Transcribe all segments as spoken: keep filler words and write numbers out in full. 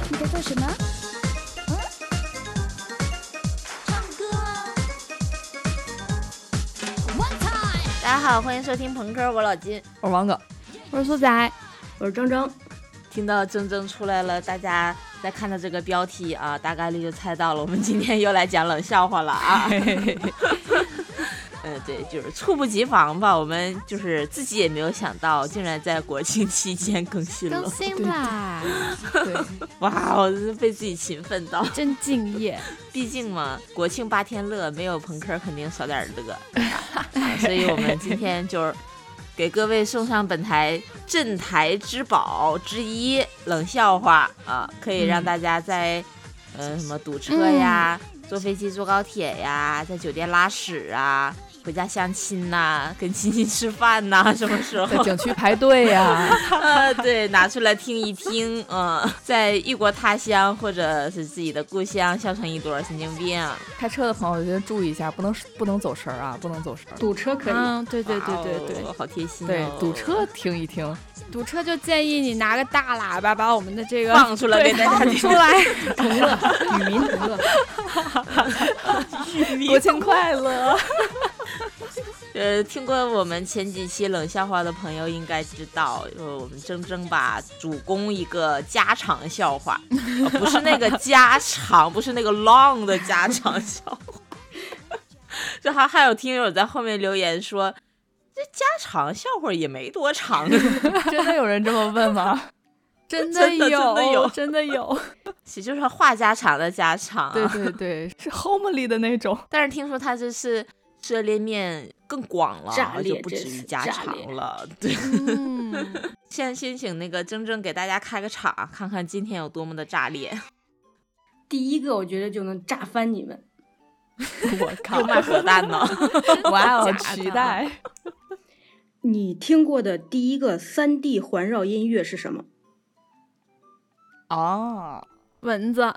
你在做什么？嗯，唱歌啊 ！One time。 大家好，欢迎收听朋克，我老金， 我是王哥， 我是苏仔， 我是铮铮。 听到铮铮出来了，大家在看到这个标题啊，大概率就猜到了，我们今天又来讲冷笑话了啊。嗯，对，就是猝不及防吧，我们就是自己也没有想到，竟然在国庆期间更新了， 更新啦！ 对， 哇，我真是被自己勤奋到， 真敬业。 毕竟嘛，国庆八天乐，没有朋克肯定少点乐，啊、所以我们今天就是给各位送上本台镇台之宝之一冷笑话啊，可以让大家在、嗯、呃什么堵车呀、嗯、坐飞机坐高铁呀，在酒店拉屎啊，回家相亲呐、啊，跟亲戚吃饭呐、啊，什么时候在景区排队呀、啊呃，对，拿出来听一听，嗯，在异国他乡或者是自己的故乡笑成一朵神经病。 开车的朋友就注意一下，不能不能走神啊，不能走神。 堵车可以， 嗯，对对对对对， 哦、好贴心、哦。 对，堵车听一听， 堵车就建议你拿个大喇叭把我们的这个放出来给大家听出来， 同乐，与民同乐， 国庆快乐。 呃，听过我们前几期冷笑话的朋友应该知道，呃，我们铮铮吧主攻一个家常笑话、呃，不是那个家常，不是那个 long 的家常笑话。这还还有听友在后面留言说，这家常笑话也没多长。 真的有人这么问吗？ 真的有， 真的有， 真的有。 其实就是话家常的家常、啊。 对对对，是 homely 的那种。 但是听说他这是涉猎面更广了， 炸裂就不止于家常了。对， 嗯， 先先请那个铮铮给大家开个场，看看今天有多么的炸裂。 第一个我觉得就能炸翻你们。 我靠， 又卖核弹呢！ 哇哦，期待。 你听过的第一个 三 D 环绕音乐是什么？ 哦， 蚊子。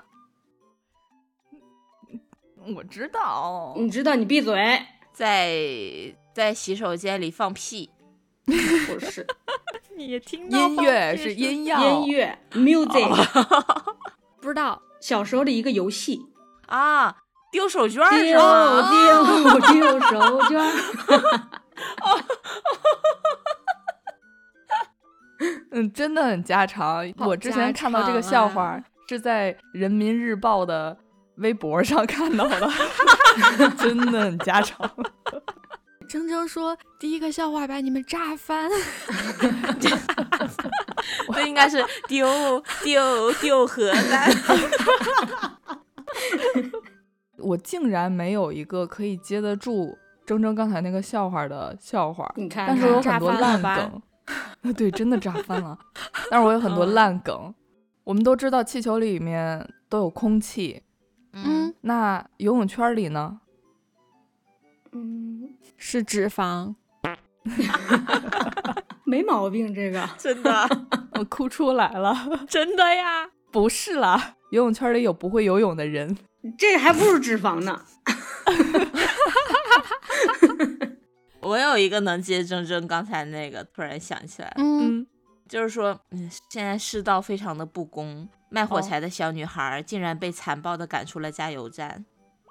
我知道， 你知道，你闭嘴。 在在洗手间里放屁， 不是。 你也听到音乐是音药， 音乐 music，、 哦、不知道。 小时候的一个游戏啊，丢手绢是吗？丢丢丢手绢。 嗯，真的很家常。我之前看到这个笑话、啊、是在人民日报的微博上看到的。真的很家常。 铮铮说第一个笑话把你们炸翻。 这应该是丢丢丢核弹。 我竟然没有一个可以接得住铮铮刚才那个笑话的笑话， 你看， 但是我有很多烂梗。对，真的炸翻了。但是我有很多烂梗、嗯、我们都知道气球里面都有空气， 嗯， 那游泳圈里呢？ 嗯， 是脂肪。 没毛病，这个真的。 我哭出来了。 真的呀？ 不是啦，游泳圈里有不会游泳的人， 这还不如脂肪呢。 我有一个能接铮铮刚才那个，突然想起来了， 嗯， 就是说，嗯，现在世道非常的不公，卖火柴的小女孩竟然被残暴的赶出了加油站。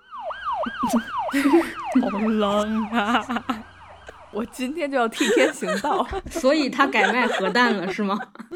好冷啊！我今天就要替天行道。 所以他改卖核弹了是吗？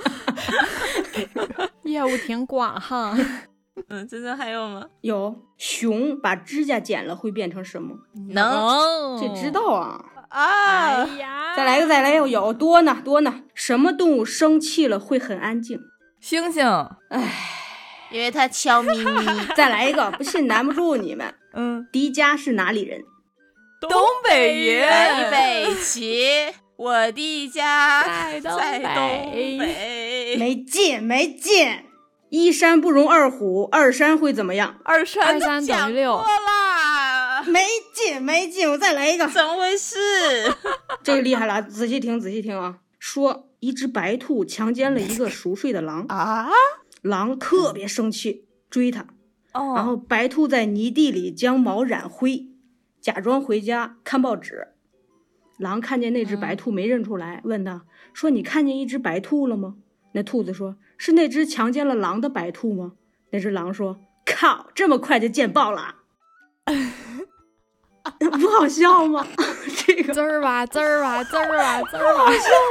业务挺广哈。 嗯，真的还有吗？ 有。熊把指甲剪了会变成什么？ 能， 这知道啊。 啊！ 哎呀， 再来个，再来个，有多呢，多呢。什么动物生气了会很安静？ 猩猩。 唉， 因为它悄咪咪。 再来一个，不信难不住你们。 嗯， 迪迦是哪里人？ 东北人。 一北齐，我的家在东在东北。 北。 没劲，没劲。一山不容二虎，二山会怎么样？ 二山二三等于六。 没劲，没劲，我再来一个。 怎么回事？ 这个厉害了，仔细听，仔细听啊！说一只白兔强奸了一个熟睡的狼啊， 狼特别生气，追它。 哦， 然后白兔在泥地里将毛染灰，假装回家看报纸。狼看见那只白兔没认出来，问他说：“你看见一只白兔了吗？” 那兔子说：“是那只强奸了狼的白兔吗？”那只狼说：“靠，这么快就见报了。”不好笑吗？这个滋儿吧滋儿吧滋儿吧滋儿吧，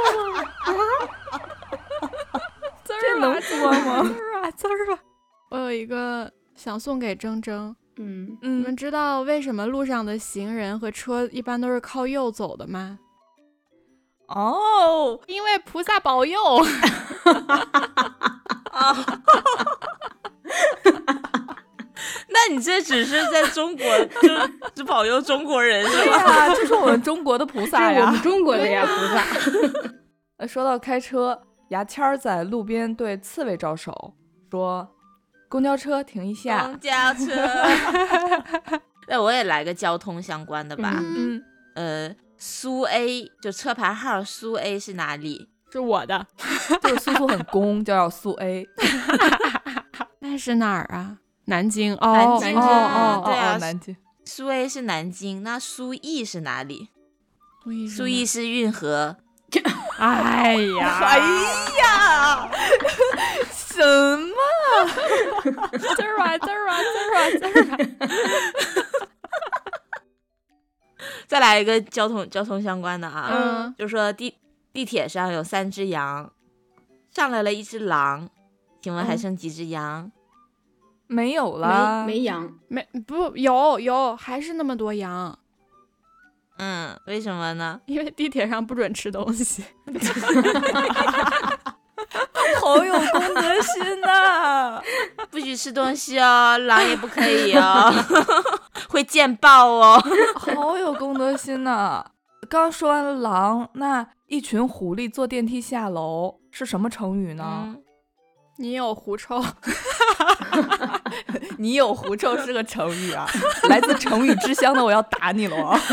这能播吗？ 滋儿吧滋儿吧。我有一个想送给铮铮， 嗯你嗯们知道为什么路上的行人和车一般都是靠右走的吗？ 哦， 因为菩萨保佑。 那你这只是在中国就只保佑中国人是对吧？ 呀，这是我们中国的菩这萨呀是我们。中国的呀，菩萨。 呃，说到开车，牙签儿在路边对刺猬招手，说：“公交车停一下。 公交车。那我也来个交通相关的吧。 嗯， 呃，苏 A 就车牌号苏 A 是哪里？ 是我的， 就是苏苏很攻，就要苏 A。 那是哪儿啊？南京哦， 南京哦哦哦对啊哦，南京。 苏 A 是南京，那苏 E 是哪里？ 苏伊苏 E 是运河。 哎呀， 哎呀，什么？ 滋儿吧滋儿吧滋儿吧滋儿吧。 再来一个交通交通相关的啊， 嗯就说地地铁上有三只羊，上来了一只狼，请问还剩几只羊？ 没有了， 没没羊， 没不有有还是那么多羊， 嗯，为什么呢？ 因为地铁上不准吃东西。 好有公德心呐、 不许吃东西哦，狼也不可以哦，会见报哦。 好有公德心呐、刚说完了狼，那一群狐狸坐电梯下楼是什么成语呢？ 嗯， 你有狐臭， 你有狐臭是个成语啊，来自成语之乡的我要打你了啊！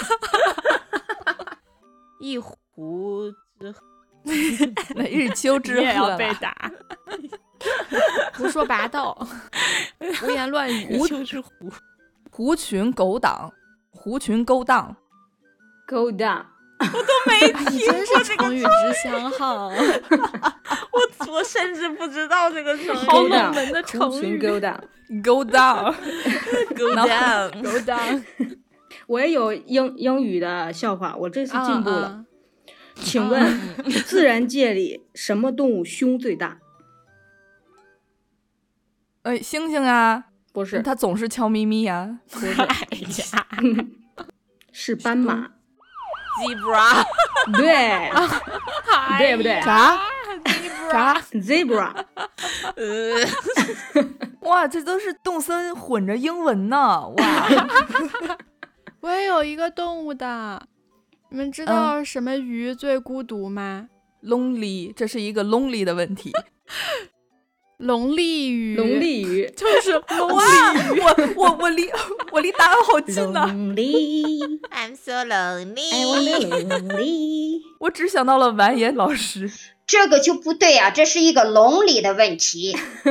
一壶之那日秋之你也鹤啦要被打。胡说八道，胡言乱语。 狐之狐， 狐群狗党，狐群勾当。 Go down。 你真是成语之乡哈， 我我甚至不知道这个成语。 好冷门的成狐群语。 Go down。 Go down， Go down， 狗当我也有英英语的笑话，我这次进步了。 啊请问，自然界里什么动物胸最大？ 呃，猩猩啊， 不是， 它总是悄咪咪呀、 不是， 哎呀， 是斑马。 zebra， 对对不对啥啥？ ，zebra。 呃， 哇，这都是动森混着英文呢！哇， 我也有一个动物的，你们知道什么鱼最孤独吗？ lonely，这是一个 lonely 的问题。 龙利鱼。 龙利鱼。 就是龙哇，我我我离我离答案好近呐、 Lonely， I'm so lonely。 I wanna lonely。 我只想到了完颜老师。 这个就不对啊，这是一个笼里的问题。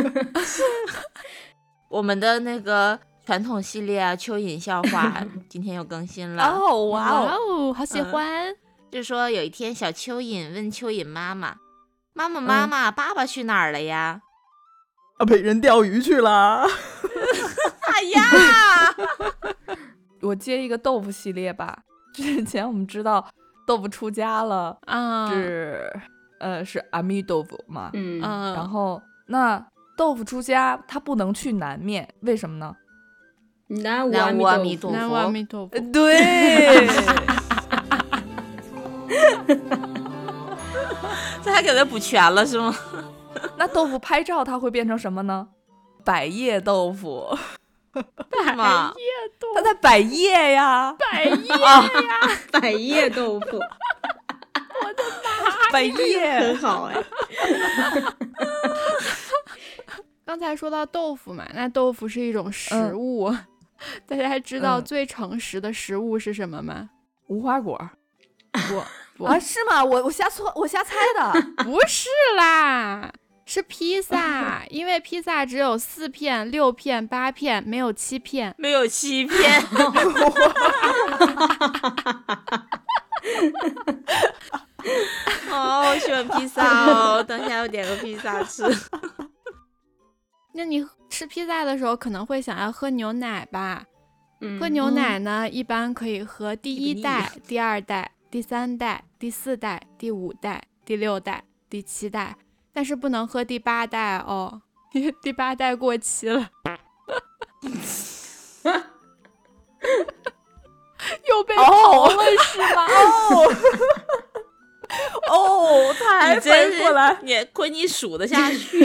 我们的那个传统系列啊，蚯蚓笑话今天又更新了。 哦，哇哇哦， 哦，好喜欢。 就说有一天，小蚯蚓问蚯蚓妈妈：“妈妈，妈妈，爸爸去哪儿了呀啊，被人钓鱼去了。？” 哎呀， 我接一个豆腐系列吧。之前我们知道豆腐出家了， 啊， 是呃是阿弥豆腐嘛， 嗯， 嗯， 然后那豆腐出家他不能去南面，为什么呢？ 南无南无阿弥陀陀南无阿弥陀佛。 对， 这还给他补全了是吗？ 那豆腐拍照它会变成什么呢？百叶豆腐， 是吗？ 它在百叶呀， 百叶百叶豆腐， 百叶很好哎。 刚才说到豆腐嘛，那豆腐是一种食物，大家还知道嗯最诚实的食物是什么吗？ 无花果不不、 啊？是吗？我我瞎错，我瞎猜的。 不是啦，是披萨，因为披萨只有四片、六片、八片，没有七片。 没有欺骗。 哦，我喜欢披萨哦，等一下我点个披萨吃。 那你吃披萨的时候可能会想要喝牛奶吧？ 嗯喝牛奶呢，一般可以喝第一这个代、第二代、第三代、第四代、第五代、第六代、第七代，但是不能喝第八代哦，因为第八代过期了。又被刨了是吗？ 哦，哦，才你反真是应过来， 你亏你数得下去。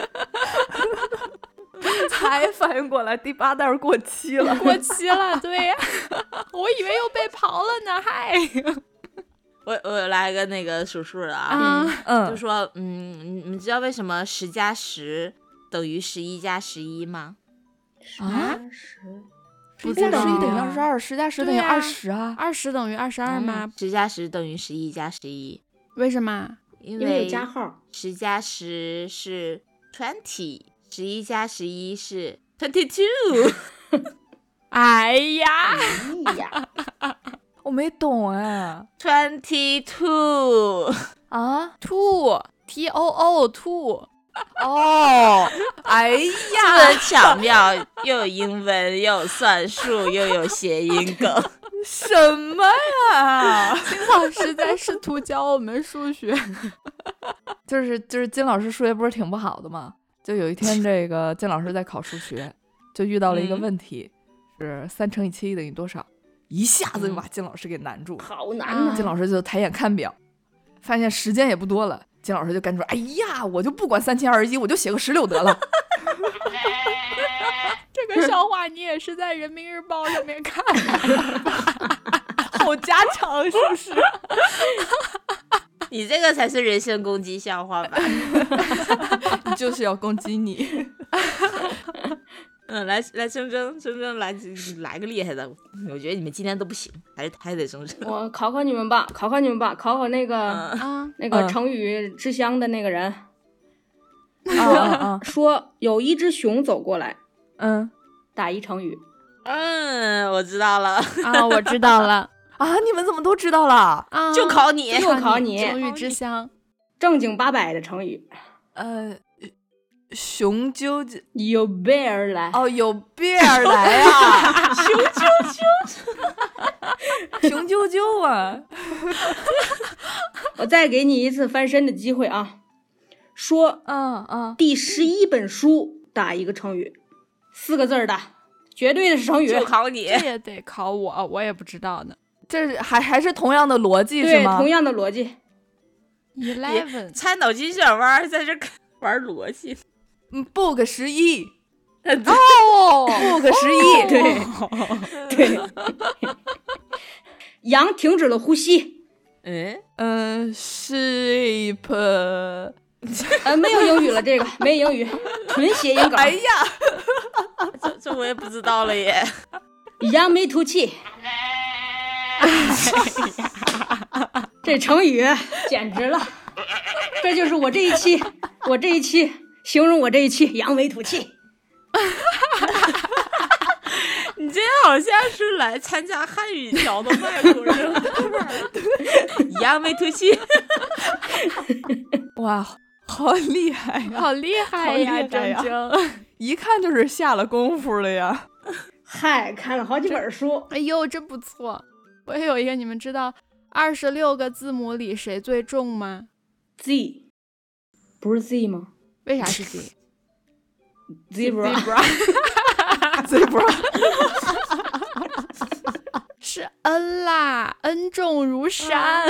才反应过来，第八袋过期了。 过期了，对呀、我以为又被刨了呢，嗨。 我我来个那个数数的啊， 啊， 嗯， 就说嗯，你你知道为什么十加十等于十一加十一吗？ 啊， 十十加十一等于啊二十二，十加十等于对啊二十啊。 二十等于二十二吗？ 十加十等于十一加十一， 为什么？ 因因为有为加号。 十加十是 twenty，十一加十一是 twenty two。 哎呀， 哎呀， 我没懂哎。 twenty two。 啊， 兔 T O O 兔， 哦，哎是呀， 不是巧妙？又有英文，又有算术，又有谐音梗。 什么呀？ 金老师在试图教我们数学。 就是就是金老师数学不是挺不好的吗？就有一天这个金老师在考数学，就遇到了一个嗯问题，是三乘以七等于多少？一下子就把金老师给难住了。 好难啊呐！ 金老师就抬眼看表，发现时间也不多了。金老师就干出，哎呀，我就不管三七二十一，我就写个十六得了。 这个笑话你也是在人民日报上面看的。 好家常，是不是？ 你这个才是人身攻击笑话吧？ 就是要攻击你。 嗯，来来，铮铮铮铮来来个厉害的，我觉得你们今天都不行，还是还得铮铮。 我考考你们吧，考考你们吧，考考那个、 嗯啊， 那个嗯成语之乡的那个人， 啊啊说有一只熊走过来， 嗯打一成语。 嗯，我知道了， 啊，我知道了啊！你们怎么都知道了？ 啊， 就考你。 就考你成语之乡。 正经八百的成语， 呃，雄赳赳有备而来。 哦，有备而来啊！雄赳赳，雄赳赳啊！ 我再给你一次翻身的机会啊！说嗯嗯， 第十一本书打一个成语，四个字儿的，绝对的是成语。 就考你。 这也得考我，我也不知道呢。 这是还还是同样的逻辑是对， 吗？ 同样的逻辑。 Eleven 猜脑筋急转弯，在这玩逻辑。 嗯，book 十一哦， ，book 十一， 对对。羊停止了呼吸。 嗯， 嗯，sheep， 呃，没有英语了，这个没有英语，纯谐音梗。 哎呀， 这这我也不知道了耶。 扬眉吐气。这成语简直了，这就是我这一期，我这一期形容我这一期扬眉吐气。 你这好像是来参加汉语条的外国人，扬眉吐气。 哇，好厉害呀！ 好厉害好厉呀， 害呀铮铮。 一看就是下了功夫了呀。 嗨，看了好几本书。 哎呦，真不错。我也有一个，你们知道二十六个字母里谁最重吗？ Z， 不是 Z 吗为啥是 Z？ ？Zebra。 Zebra 是 N 啦，N 重如山。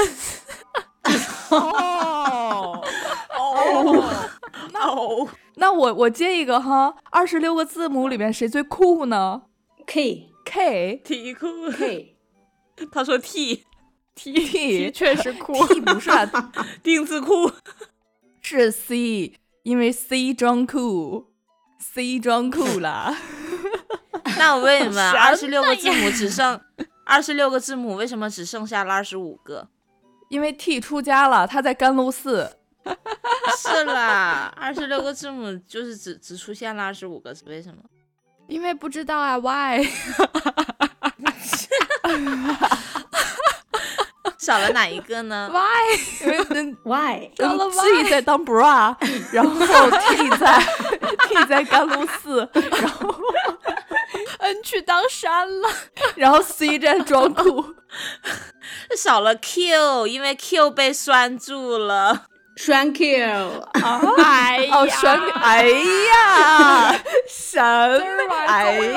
哦哦哦， 那我我接一个哈，二十六个字母里面谁最酷呢 K ？K 题库。 K 他说 T T T 确实酷。 T 不是啊， 丁字裤。 是 C，因为 C 装酷，C 装酷啦。 那我问你们， 什么二十六个字母只剩二十六个字母，为什么只剩下了二十五个？ 因为 T 出家了，他在甘露寺。 是啦，二十六个字母就是只只出现了二十五个，是为什么？ 因为不知道啊 ，Why？ 少了哪一个呢 ？Why？ 因为嗯 Why？ 少了 G 在当 bra， 然后 T 在 T 在甘露寺，然后 N 去当山了， 然后 C 在装酷。 少了 Q， 因为 Q 被拴住了。 栓 Q， 哎呀， 哦，栓，哎呀，什么？哎呀，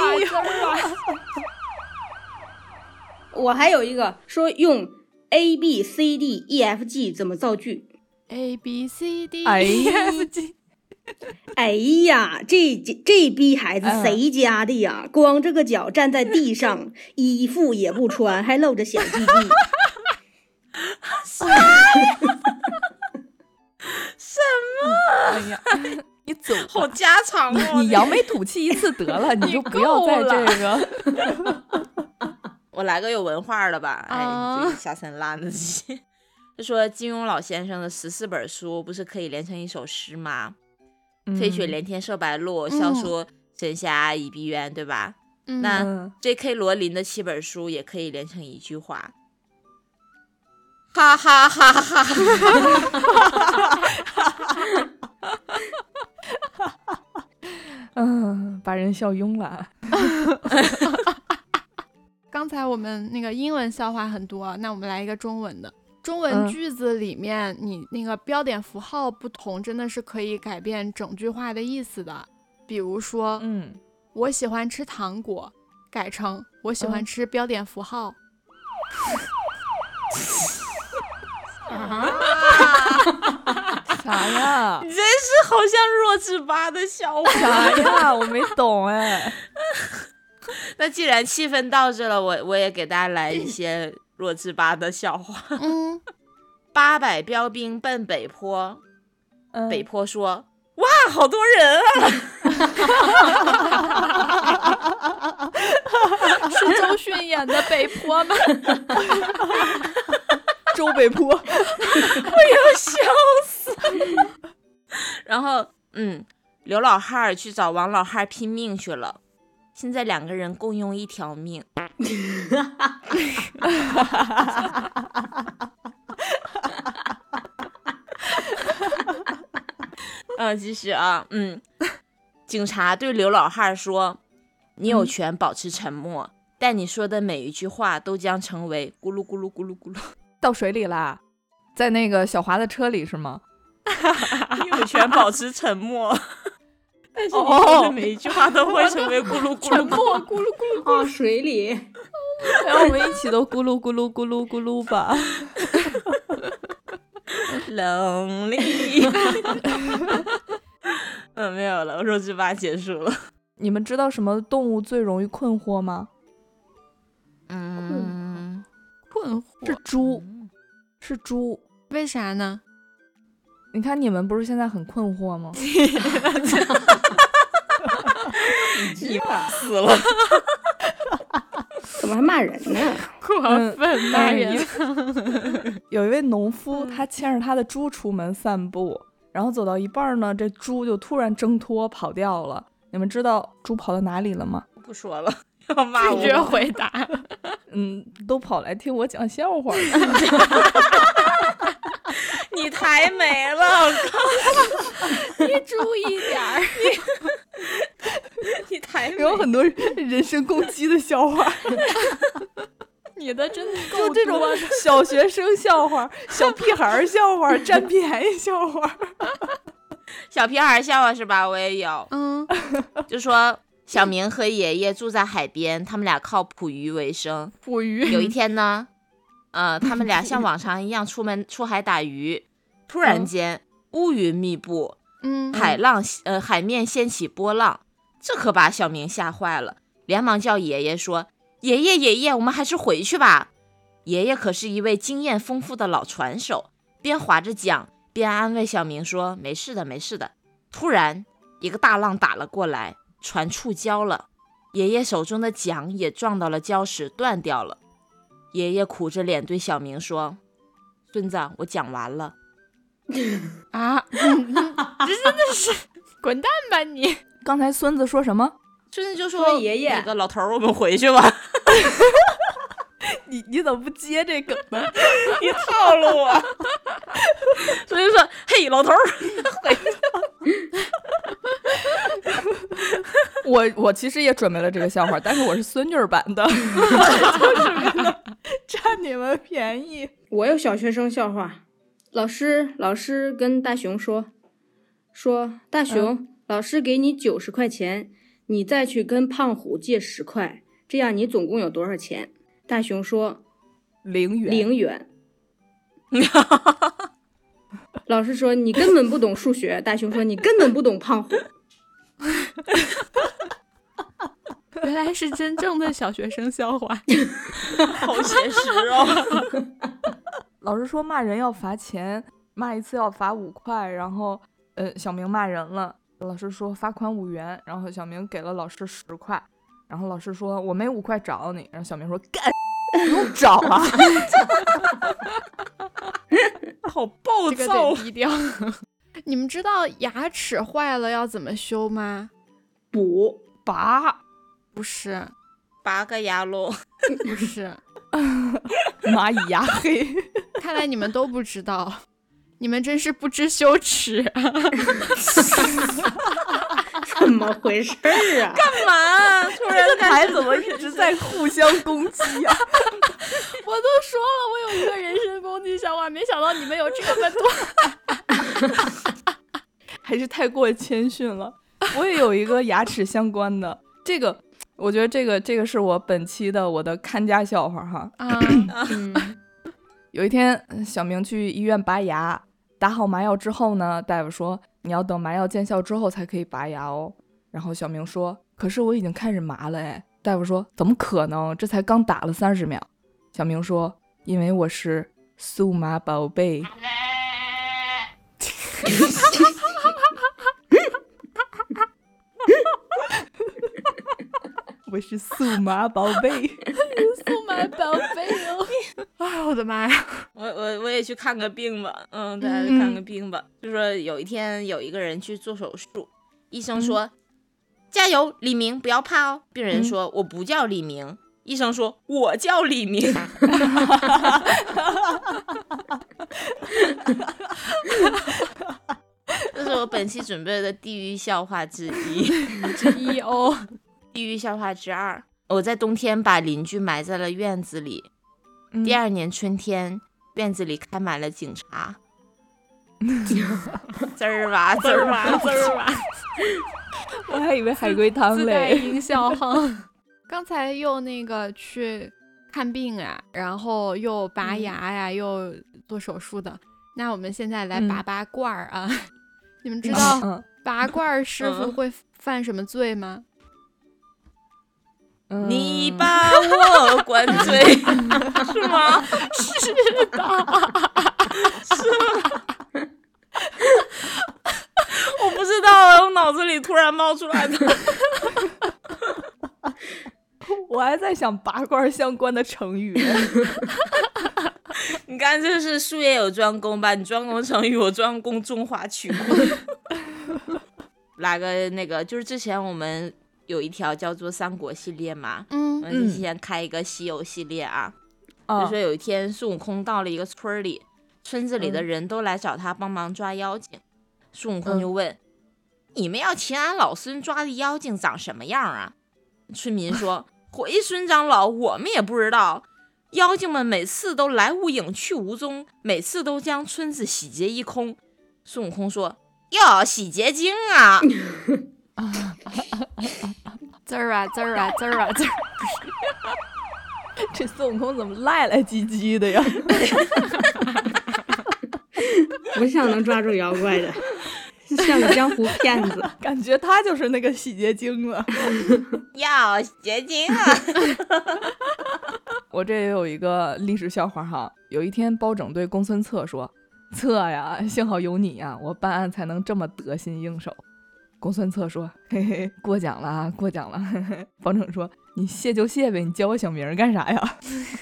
我还有一个说用 A B C D E F G 怎么造句。 A B C D 哎 E 呀 F G， 哎呀，这这逼孩子谁家的呀？嗯、光着个脚站在地上，衣服也不穿，还露着小鸡鸡。 什么？ 哎呀，你走吧， 好家常哦！ 你扬眉吐气一次得了，你就不要在这个。 我来个有文化的吧，哎， 啊这个下三滥的鸡。就说金庸老先生的十四本书不是可以连成一首诗吗？ 嗯、 飞雪连天射白鹿，笑说神侠倚碧鸳，对吧？ 嗯、 那 J K 罗琳的七本书也可以连成一句话。哈哈哈哈哈！ 嗯，把人笑晕了。 刚才我们那个英文笑话很多，那我们来一个中文的。中文句子里面，嗯、你那个标点符号不同，真的是可以改变整句话的意思的。比如说， 嗯， 我喜欢吃糖果，改成我喜欢吃标点符号。 嗯啊！ 啥呀？ 你真是好像弱智吧的笑话。 啥呀？我没懂哎。 那既然气氛到这了，我我也给大家来一些弱智吧的笑话。 嗯， 八百标兵奔北坡， 嗯、 北坡说：“哇，好多人啊！” 是周迅演的北坡吗？ 周北坡， 我要笑死。然后，嗯，刘老汉去找王老汉拼命去了。现在两个人共用一条命。嗯，继续啊，嗯，警察对刘老汉说：“你有权保持沉默，嗯、但你说的每一句话都将成为咕噜咕噜咕噜咕噜。” 到水里啦，在那个小华的车里是吗？ 你有权保持沉默。但是你说的每一句话都会成为咕噜咕噜沉默咕噜咕噜啊，水里， 让我们一起都咕噜咕噜咕噜咕噜吧。 冷里。嗯，没有了，弱智吧结束了。 你们知道什么动物最容易困惑吗？ 嗯， 困惑是猪，是猪。 为啥呢？ 你看你们不是现在很困惑吗？ 你死了。 怎么还骂人呢？ 过分骂人。 有一位农夫，他牵着他的猪出门散步，然后走到一半呢，这猪就突然挣脱跑掉了。你们知道猪跑到哪里了吗？ 不说了，要骂我。 拒绝回答。 嗯，都跑来听我讲笑话了。 你太美了，我靠！ 你注意点儿。 你太美了， 有很多人身攻击的笑话。 你的真的够就这种小学生笑话、小屁孩笑话、占便宜笑话。 小屁孩笑话是吧？我也有。 嗯， 就说小明和爷爷住在海边，他们俩靠捕鱼为生。 捕鱼。 有一天呢，呃，他们俩像往常一样出门出海打鱼，突然间、嗯、乌云密布， 嗯， 海浪呃海面掀起波浪，这可把小明吓坏了，连忙叫爷爷说：“爷爷爷爷，我们还是回去吧。”爷爷可是一位经验丰富的老船手，边划着桨边安慰小明说：“没事的，没事的。”突然，一个大浪打了过来，船触礁了，爷爷手中的桨也撞到了礁石，断掉了。爷爷苦着脸对小明说：“孙子，我讲完了。” 啊，这真的是滚蛋吧你！ 刚才孙子说什么？ 孙子就说：“ 爷爷， 那个老头，我们回去吧。” 你你怎么不接这梗呢？ 你套路我。所以说，嘿，老头儿， 我我其实也准备了这个笑话，但是我是孙女儿版的，就是为了占你们便宜。 我有小学生笑话。老师老师跟大熊说说大熊、嗯、老师给你九十块钱，你再去跟胖虎借十块，这样你总共有多少钱？大熊说零元。 零元。老师说你根本不懂数学，大熊说你根本不懂胖虎。 原来是真正的小学生笑话。 好写实哦。 老师说骂人要罚钱，骂一次要罚五块，然后呃小明骂人了，老师说罚款五元，然后小明给了老师十块，然后老师说我没五块找你，然后小明说干不用找啊。 好暴这个躁。 得低调。你们知道牙齿坏了要怎么修吗？ 补拔。 不是， 拔个牙喽。 不是。 蚂蚁牙黑。 看来你们都不知道，你们真是不知羞耻啊。 怎么回事啊？ 干嘛？突然这台怎么一直在互相攻击啊？ 我都说了，我有一个人身攻击笑话，没想到你们有这么多。 还是太过谦逊了。我也有一个牙齿相关的，这个我觉得这个这个是我本期的我的看家笑话哈。 嗯， 有一天小明去医院拔牙，打好麻药之后呢，大夫说你要等麻药见效之后才可以拔牙哦。然后小明说可是我已经开始麻了哎。大夫说怎么可能，这才刚打了三十秒。小明说因为我是数码宝贝。我是数码宝贝。 数码宝贝哦。哎，我的妈呀！ 我我我也去看个病吧，嗯，大家去看个病吧。嗯、就说有一天有一个人去做手术，医生说、嗯、加油，李明，不要怕哦。病人说、嗯、我不叫李明。医生说我叫李明。这是我本期准备的地狱笑话之一。 之一哦。 地狱笑话之二，我在冬天把邻居埋在了院子里、嗯、第二年春天院子里开满了警察。滋儿吧滋儿吧滋儿吧。 我还以为海龟汤嘞。 自带音效哈。刚才又那个去看病啊，然后又拔牙呀、嗯、又做手术的，那我们现在来拔拔罐儿啊、嗯、你们知道拔罐师傅会犯什么罪吗？ 嗯、你把我灌醉。是吗？ 是的。 是吗？我不知道，我脑子里突然冒出来的。 我还在想拔罐相关的成语。 你看这是术业有专攻吧，你专攻成语，我专攻中华曲库。来个那个，就是之前我们有一条叫做三国系列嘛， 嗯， 我们之前开一个西游系列啊、嗯、就说有一天孙悟空到了一个村里，村子里的人都来找他帮忙抓妖精、嗯、孙悟空就问、嗯、你们要请俺老孙抓的妖精长什么样啊？村民说回孙长老，我们也不知道，妖精们每次都来无影去无踪，每次都将村子洗劫一空。孙悟空说哟，洗洁精啊。 滋儿啊滋儿啊滋儿啊滋儿。 这孙悟空怎么赖赖唧唧的呀？ 不像能抓住妖怪的，像个江湖骗子。 感觉他就是那个洗洁精了。 要洗洁精啊。 我这也有一个历史笑话哈。有一天包拯对公孙策说，策呀，幸好有你呀，我办案才能这么得心应手。公孙策说嘿嘿，过奖了过奖了。包拯说你谢就谢呗，你叫我小名干啥呀？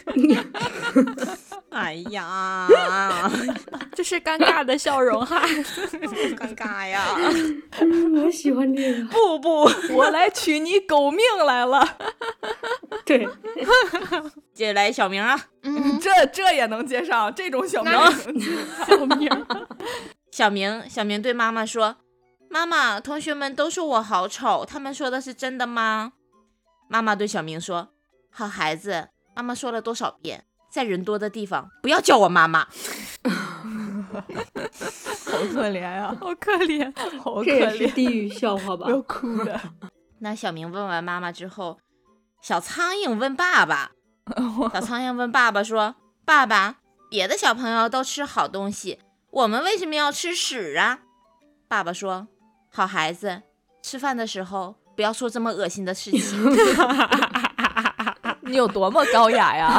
哎呀， 这是尴尬的笑容哈。 尴尬呀。 我喜欢这个。 不不， 我来取你狗命来了。 对， 接着来小明啊， 嗯， 这这也能接上，这种小名那也能接上。 小明， 小明，小明对妈妈说：“妈妈，同学们都说我好丑，他们说的是真的吗？”妈妈对小明说：“好孩子，妈妈说了多少遍，在人多的地方不要叫我妈妈。” 好可怜呀、 好可怜。 好可这也是怜， 地狱笑话吧要？哭的。 那小明问完妈妈之后，小苍蝇问爸爸，小苍蝇问爸爸说：“爸爸，别的小朋友都吃好东西，我们为什么要吃屎啊？”爸爸说：“好孩子，吃饭的时候不要说这么恶心的事情。” 你有多么高雅呀？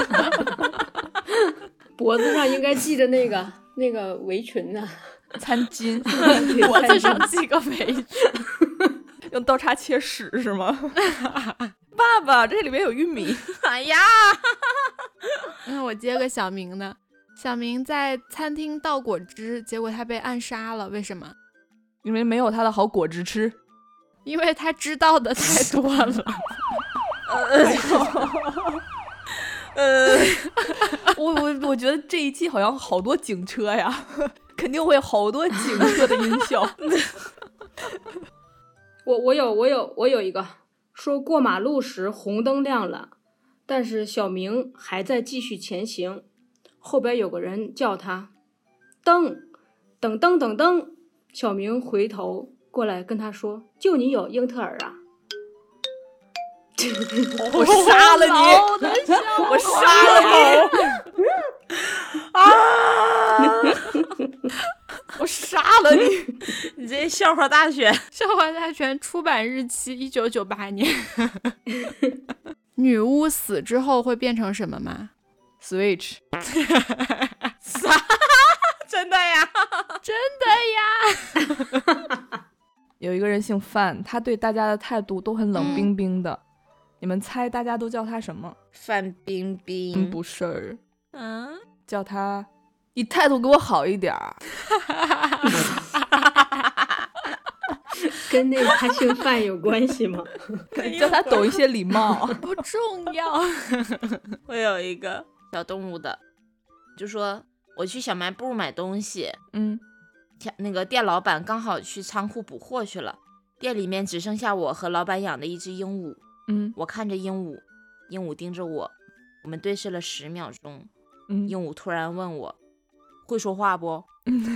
脖子上应该系着那个那个围裙呢。 餐巾， 脖子上系个围裙。 用刀叉切屎是吗？爸爸，这里面有玉米。 哎呀， 那我接个小明的。小明在餐厅倒果汁，结果他被暗杀了，为什么？ 因为没有他的好果汁吃。 因为他知道的太多了。 呃， 我我我觉得这一期好像好多警车呀，肯定会有好多警车的音效。 我我有我有我有一个说过马路时红灯亮了，但是小明还在继续前行，后边有个人叫他噔噔噔噔噔，小明回头过来跟他说：“就你有英特尔啊！” 我杀了你！我杀了你！啊！我杀了你！ 你这笑话大全， 笑话大全出版日期一九九八年。女巫死之后会变成什么吗？ Switch， 啥？真的呀？ 真的呀！ 有一个人姓范，他对大家的态度都很冷冰冰的。嗯、你们猜大家都叫他什么？ 范冰冰？ 嗯，不是， 嗯， 叫他你态度给我好一点儿。 跟那个他姓范有关系吗？ 叫他懂一些礼貌。 不重要。 我有一个小动物的，就说我去小卖部买东西， 嗯， 那个店老板刚好去仓库补货去了，店里面只剩下我和老板养的一只鹦鹉。 嗯， 我看着鹦鹉，鹦鹉盯着我，我们对视了十秒钟。 嗯， 鹦鹉突然问我：“会说话不？”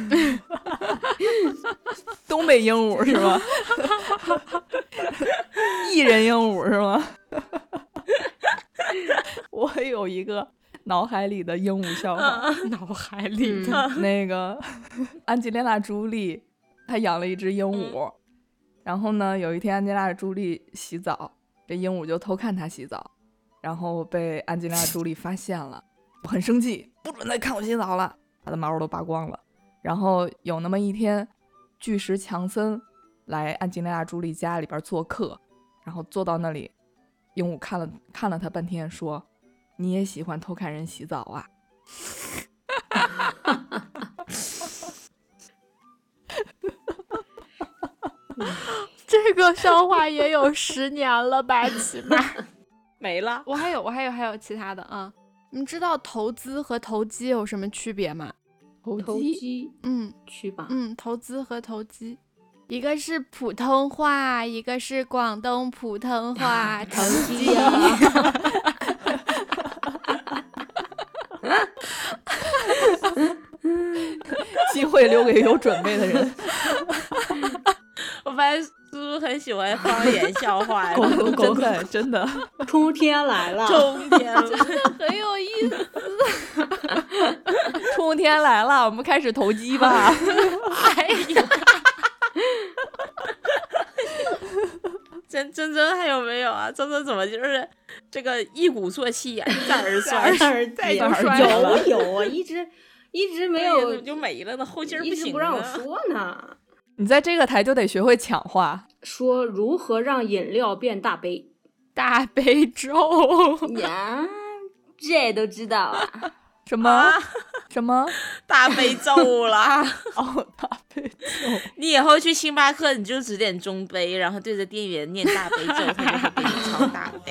东北鹦鹉是吗？艺人鹦鹉是吗？我有一个脑海里的鹦鹉笑话， 脑海里的、 嗯、那个安吉丽娜·朱莉，她养了一只鹦鹉，嗯、然后呢，有一天安吉丽娜·朱莉洗澡，这鹦鹉就偷看她洗澡，然后被安吉丽娜·朱莉发现了，我很生气，不准再看我洗澡了，她的毛都拔光了。然后有那么一天，巨石强森来安吉丽娜·朱莉家里边做客，然后坐到那里，鹦鹉看了看了他半天，说：“你也喜欢偷看人洗澡啊？” 这个笑话也有十年了吧，起码没了。 我还有，我还有，还有其他的啊。你知道投资和投机有什么区别吗？ 投机， 嗯， 去吧， 嗯，投资和投机，一个是普通话，一个是广东普通话，投机啊。 机会留给有准备的人。 我发现苏苏很喜欢方言笑话， 真的真的， 冬天来了， 冬天了， 真的很有意思。 春天来了，我们开始投机吧。 哎呀， 真真真还有没有啊？真真怎么就是这个一鼓作气呀、啊，一再而衰， 再就衰了。有有啊，一直一直没有， 就没了呢，后劲儿不行， 一直不让我说呢。 你在这个台就得学会抢话， 说如何让饮料变大杯， 大悲咒呀，这都知道啊。 什么、啊、什么大悲咒啦？ 哦，大悲咒。 你以后去星巴克，你就只点中杯，然后对着店员念大悲咒，他就会给你超常大嘞。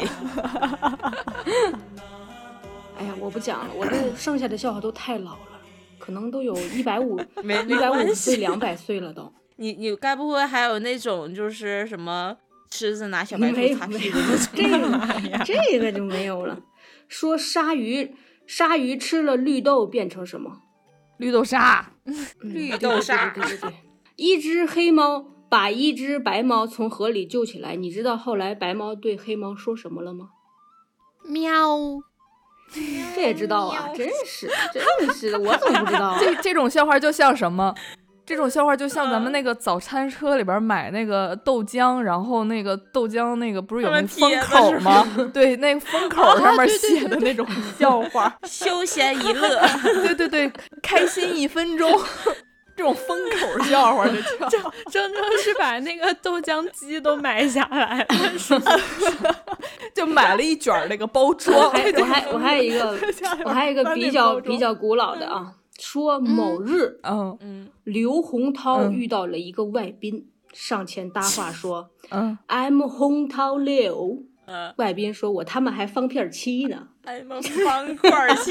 哎呀，我不讲了，我这剩下的笑话都太老了，可能都有一百五、 没一百五十没关系岁、两百岁了都。 你你该不会还有那种就是什么狮子拿小白没有兔擦屁股没有那种？ 这个这个就没有了。说鲨鱼，鲨鱼吃了绿豆变成什么？ 绿豆沙， 绿对豆沙。 对对对对对。一只黑猫把一只白猫从河里救起来，你知道后来白猫对黑猫说什么了吗？ 喵。 这也知道啊，真是真是的，我怎么不知道啊？ 这这种笑话就像什么？这种笑话就像咱们那个早餐车里边买那个豆浆，然后那个豆浆那个不是有那个封口吗？对，那个封口上面写的那种笑话， 休闲娱乐。 对对对，开心一分钟，这种封口笑话就叫。 铮铮是把那个豆浆机都买下来了，是吗？ 就买了一卷那个包我装。 还我还我还有一个我还有一个比较比较古老的啊，说某日， 嗯嗯， 刘洪涛嗯遇到了一个外宾，上前搭话说嗯， ：“I'm 洪涛刘。” 嗯， 外宾说：“我他妈还方片七呢。 哎妈，方块七，”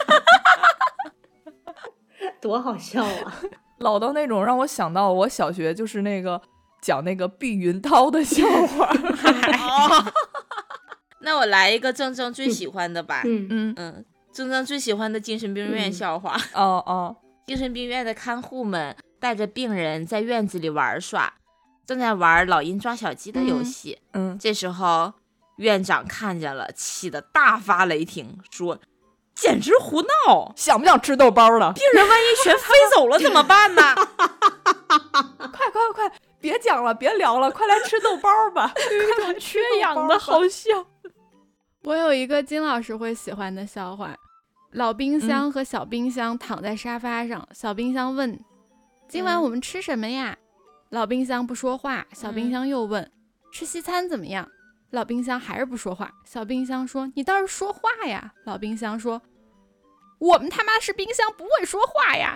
多好笑啊！ 老到那种让我想到我小学就是那个讲那个避孕套的笑话。 哦那我来一个正正最喜欢的吧。 嗯嗯， 嗯，正正最喜欢的精神病院笑话。 哦哦， 精神病院的看护们带着病人在院子里玩耍，正在玩老鹰抓小鸡的游戏。 嗯， 这时候院长看见了，气得大发雷霆，说：“简直胡闹！ 想不想吃豆包了？ 病人万一全飞走了怎么办呢？” 快快快，别讲了，别聊了，快来吃豆包吧！ 有一种缺氧的好笑。我有一个金老师会喜欢的笑话：老冰箱和小冰箱躺在沙发上，嗯、小冰箱问：“今晚我们吃什么呀？”嗯、老冰箱不说话，小冰箱又问：“嗯、吃西餐怎么样？”老冰箱还是不说话，小冰箱说：“你倒是说话呀！”老冰箱说：“我们他妈是冰箱，不会说话呀！”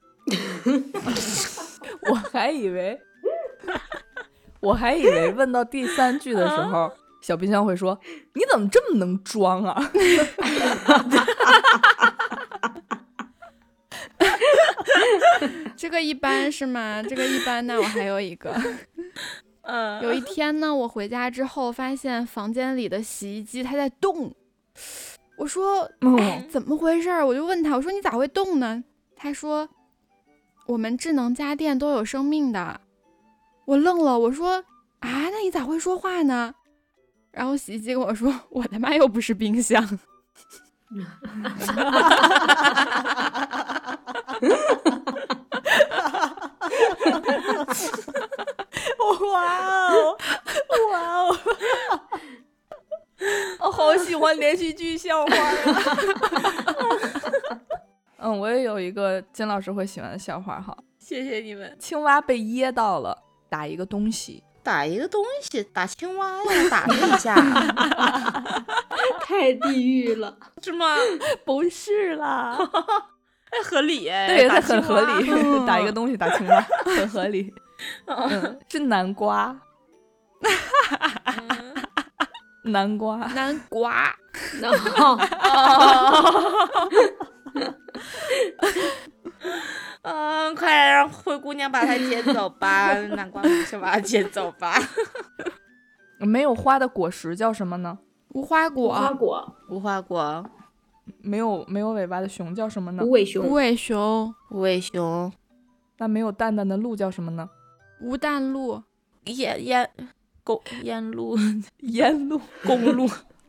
我还以为，我还以为问到第三句的时候，小冰箱会说：“你怎么这么能装啊？” 这个一般是吗？这个一般，那我还有一个。 嗯， 有一天呢，我回家之后发现房间里的洗衣机它在动，我说：“哎，怎么回事？”我就问他，我说：“你咋会动呢？”他说：“我们智能家电都有生命的。”我愣了，我说：“啊，那你咋会说话呢？”然后洗衣机跟我说：“我他妈又不是冰箱。” 哇哦，哇哦！我好喜欢连续剧笑话啊！嗯，我也有一个金老师会喜欢的笑话哈。 谢谢你们。 青蛙被噎到了，打一个东西， 打一个东西，打青蛙呀，打他一下， 太地狱了， 是吗？ 不是啦， 哎，合理哎， 对，它打青蛙很合理， 嗯打一个东西打青蛙，很合理。嗯，是南瓜，南瓜， 南瓜。 然后嗯，快让灰姑娘把它捡走吧，南瓜马上把它捡走吧。 没有花的果实叫什么呢？ 无花果。 无花果， 无花果， 没有没有尾巴的熊叫什么呢无？尾熊， 无尾熊。 无尾熊， 那没有蛋蛋的鹿叫什么呢？ 无蛋鹿。 烟烟公烟路沿路公路，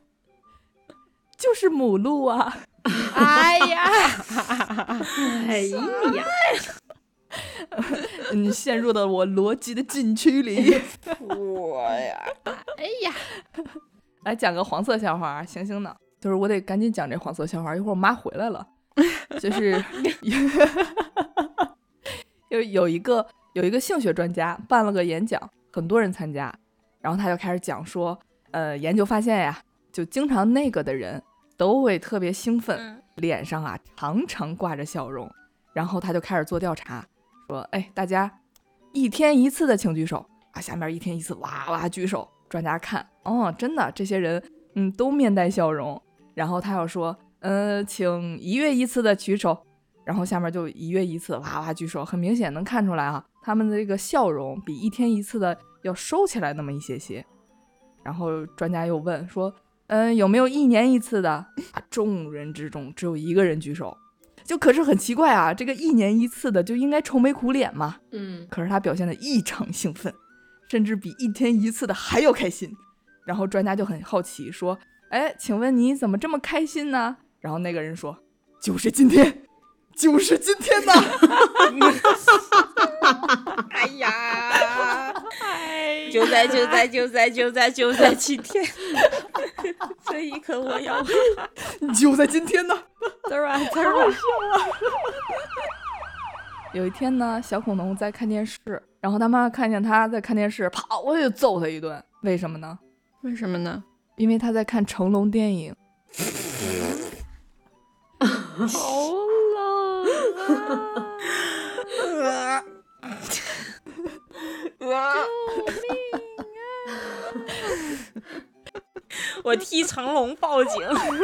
就是母鹿啊！ 哎呀， 哎呀， 你陷入了我逻辑的禁区里。 我呀， 哎呀， 来讲个黄色笑话啊，行行的，就是我得赶紧讲这黄色笑话，一会儿我妈回来了。就是有有一个有一个性学专家办了个演讲，很多人参加，然后他就开始讲说，呃，研究发现呀，就经常那个的人都会特别兴奋， 嗯脸上啊常常挂着笑容。然后他就开始做调查，说，哎，大家一天一次的请举手啊，下面一天一次哇哇举手， 专家看，哦，真的，这些人嗯都面带笑容。然后他要说，嗯、呃，请一月一次的举手。然后下面就一月一次哇哇举手，很明显能看出来啊，他们的这个笑容比一天一次的要收起来那么一些些。然后专家又问说，嗯，有没有一年一次的？啊，众人之中只有一个人举手，就可是很奇怪啊，这个一年一次的就应该愁眉苦脸嘛。 嗯， 可是他表现得异常兴奋，甚至比一天一次的还要开心。然后专家就很好奇说，哎，请问你怎么这么开心呢？然后那个人说，就是今天。就是今天呐！ 哎呀，就在就在就在就在就在今天，这一刻我要就在今天呢！ 嘚儿啊嘚儿啊！ 有一天呢，小恐龙在看电视，然后他妈看见他在看电视，啪，我就揍他一顿。为什么呢？ 为什么呢？ 因为他在看成龙电影。 好啊！救命啊！我替成龙报警。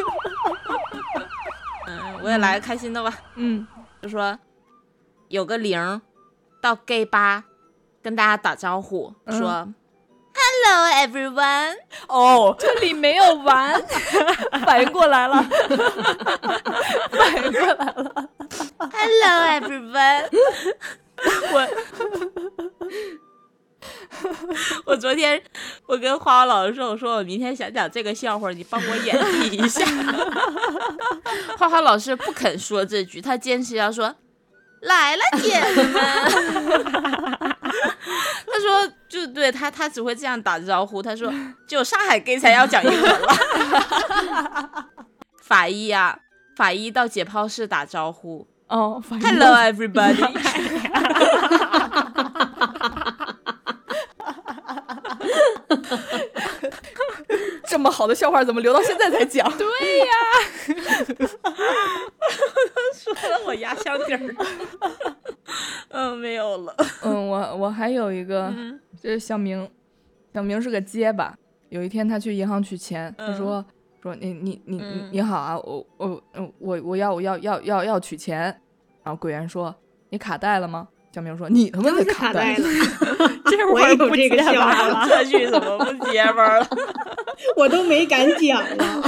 嗯，我也来个开心的吧。 嗯， 就说有个零到 gay 吧跟大家打招呼， 嗯、 说 Hello everyone。 哦， 这里没有完， 反应过来了，反应过来了。 Hello everyone。我我昨天我跟花花老师说，我说我明天想讲这个笑话，你帮我演绎一下。花花老师不肯说这句，他坚持要说来了姐们。他说就对他他只会这样打招呼，他说只有上海 gay 才要讲英文了。法医啊，法医到解剖室打招呼。 哦 ，Hello everybody。 这么好的笑话怎么留到现在才讲？ 对呀， 说了我压箱底儿。嗯，没有了。 嗯，我我还有一个， 嗯、 就是小明，小明是个结巴。有一天他去银行取钱， 嗯、 他说说你你你嗯、 你好啊，我我我我要我要要要要取钱。然后柜员说你卡带了吗？小明说你他妈的卡带了。 这会儿不这个笑话了，这句怎么不结巴了？ 我都没敢讲了。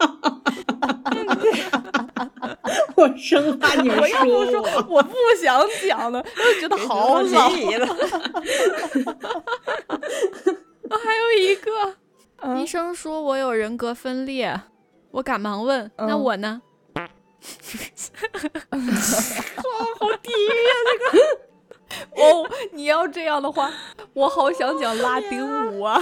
我生怕你们我要不说说我不想讲了，我觉得好老了。 还有一个、 嗯、医生说我有人格分裂，我赶忙问、嗯、那我呢？ 哇，好地狱啊！这个哦，你要这样的话，我好想讲拉丁舞啊！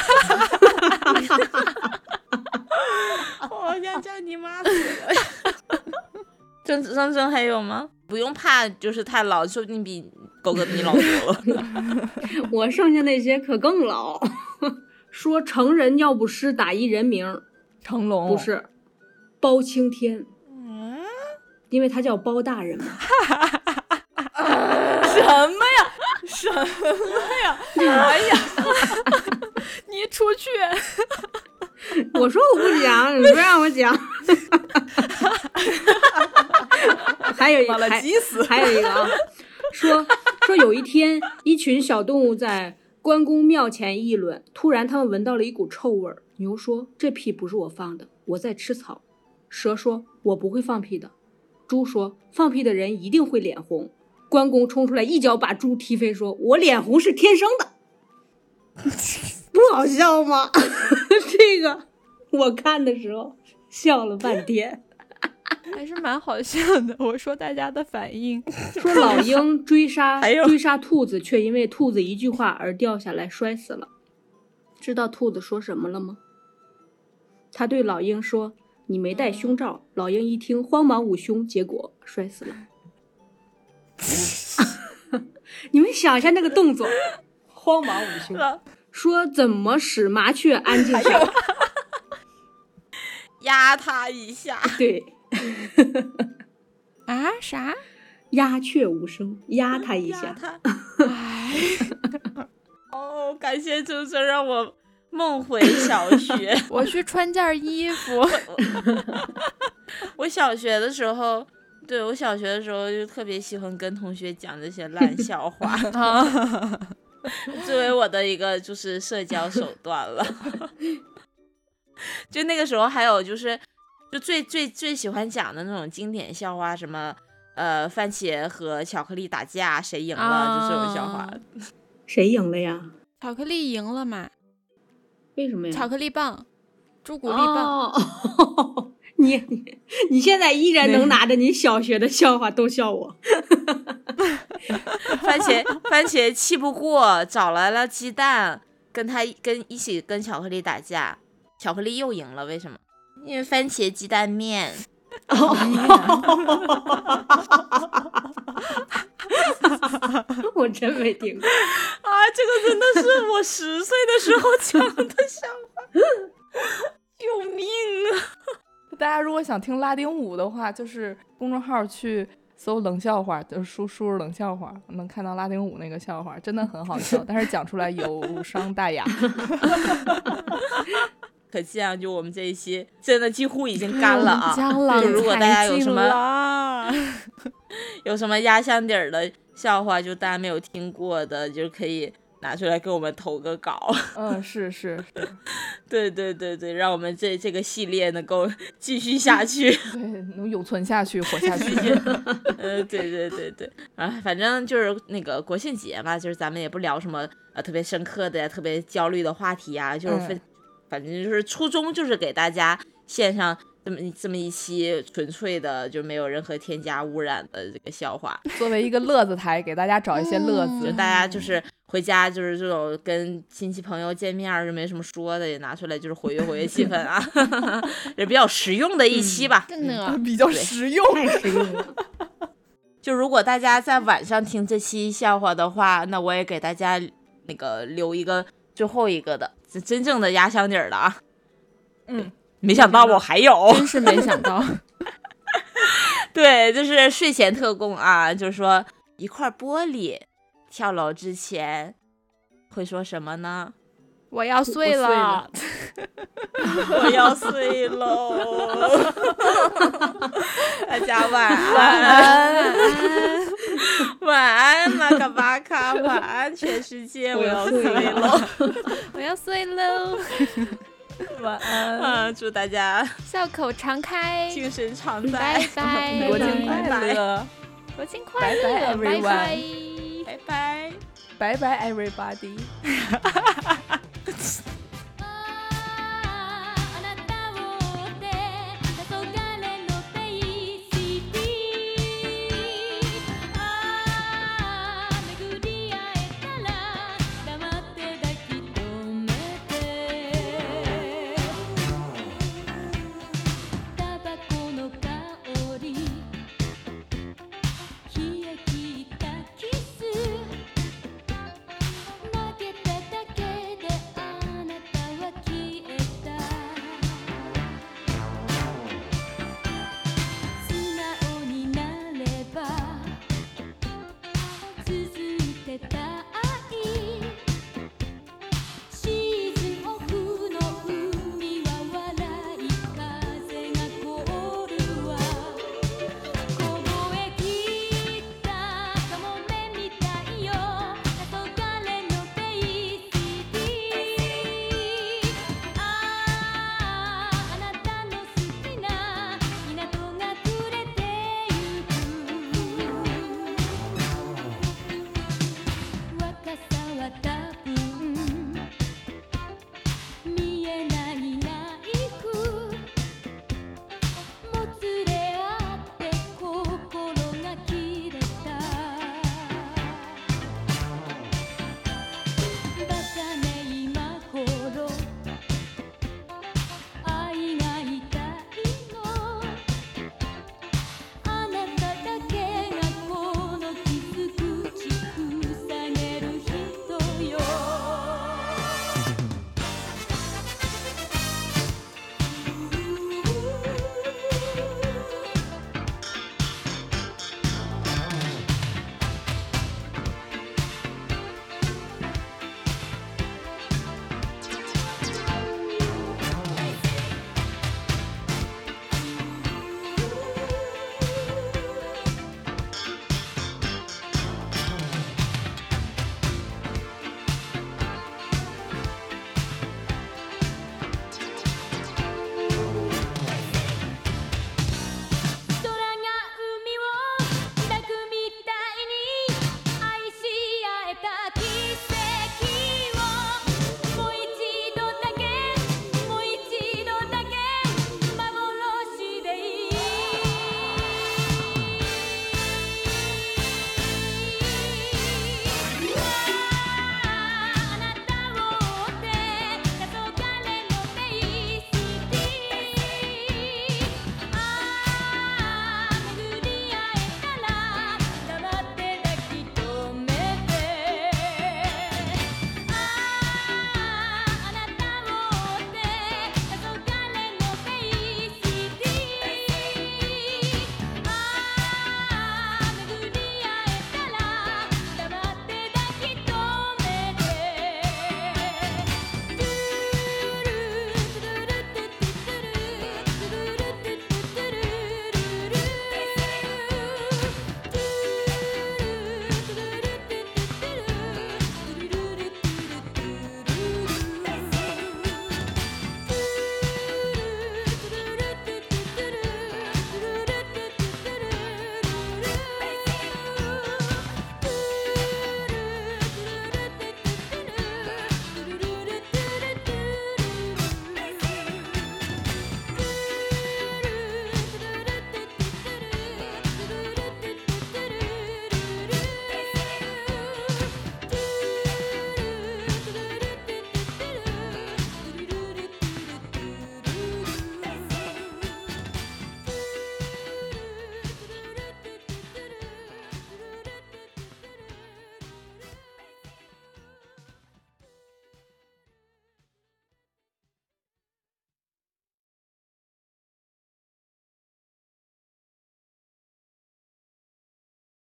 我好想叫你妈死了！郑郑郑还有吗？不用怕，就是太老，说不定比狗哥比你老多了。 我剩下那些可更老。说成人尿不湿打一人名， 成龙不是，包青天。 嗯， 因为他叫包大人嘛。 什么呀？什么呀？哎呀！ 你出去！ 我说我不讲，你不让我讲。还有一个，还, 还有一个啊，说说有一天，一群小动物在关公庙前议论，突然他们闻到了一股臭味儿。牛说：“这屁不是我放的，我在吃草。”蛇说：“我不会放屁的。”猪说：“放屁的人一定会脸红。”关公冲出来一脚把猪踢飞，说：“我脸红是天生的。”不好笑吗？这个我看的时候笑了半天。 还是蛮好笑的。我说大家的反应， 说老鹰追杀追杀兔子，却因为兔子一句话而掉下来摔死了。知道兔子说什么了吗？他对老鹰说：“你没戴胸罩。”老鹰一听，慌忙捂胸，结果摔死了。你们想一下那个动作，慌忙捂胸，说怎么使麻雀安静下来？ 压他一下。 对。 啊？啥？ 鸦雀无声，压他一下。 哦，感谢周周让我梦回小学。 我去穿件衣服。 我小学的时候，对我小学的时候就特别喜欢跟同学讲这些烂笑话，作为我的一个就是社交手段了。就那个时候还有就是就最最最喜欢讲的那种经典笑话，什么呃番茄和巧克力打架谁赢了， 啊、 就这种笑话。 谁赢了呀？ 巧克力赢了嘛？ 为什么呀？ 巧克力棒，朱古力棒。 哦、你你现在依然能拿着你小学的笑话逗笑我。 番茄番茄气不过，找来了鸡蛋，跟他跟一起跟巧克力打架，巧克力又赢了，为什么？因为番茄鸡蛋面。 我真没听过啊！这个真的是我十岁的时候讲的笑话，救命啊！ 大家如果想听拉丁舞的话，就是公众号去搜冷笑话，就是输输入冷笑话，能看到拉丁舞那个笑话，真的很好笑，但是讲出来有伤大雅。 可见啊，就我们这一期真的几乎已经干了啊！ 就如果大家有什么有什么压箱底儿的笑话，就大家没有听过的，就可以拿出来给我们投个稿。 嗯，是是是， 对对对对，让我们这这个系列能够继续下去， 对，能永存下去，活下去。 呃，对对对对，啊，反正就是那个国庆节嘛，就是咱们也不聊什么呃特别深刻的呀、特别焦虑的话题啊，就是分。嗯反正就是初衷就是给大家献上这么这么一期纯粹的就没有任何添加污染的这个笑话， 作为一个乐子台，给大家找一些乐子。 嗯、就大家就是回家就是这种跟亲戚朋友见面就没什么说的，也拿出来就是活跃活跃气氛啊，也比较实用的一期吧。 真的、 嗯、比较实用， 太实用了。 就如果大家在晚上听这期笑话的话，那我也给大家那个留一个最后一个的。真正的压箱底儿的啊， 嗯， 没想到我还有， 真是没想到。 对，就是睡前特供啊，就是说一块玻璃跳楼之前会说什么呢？ 我要碎了， 我要碎喽！大家晚安，晚安，马卡巴卡，晚安，全世界，我要碎喽！ 我要碎喽！ 晚安， 啊！祝大家笑口常开， 精神常在， 拜拜！ 国庆快乐， 国庆快乐， 拜拜 everyone， 拜拜， 拜拜 everybody。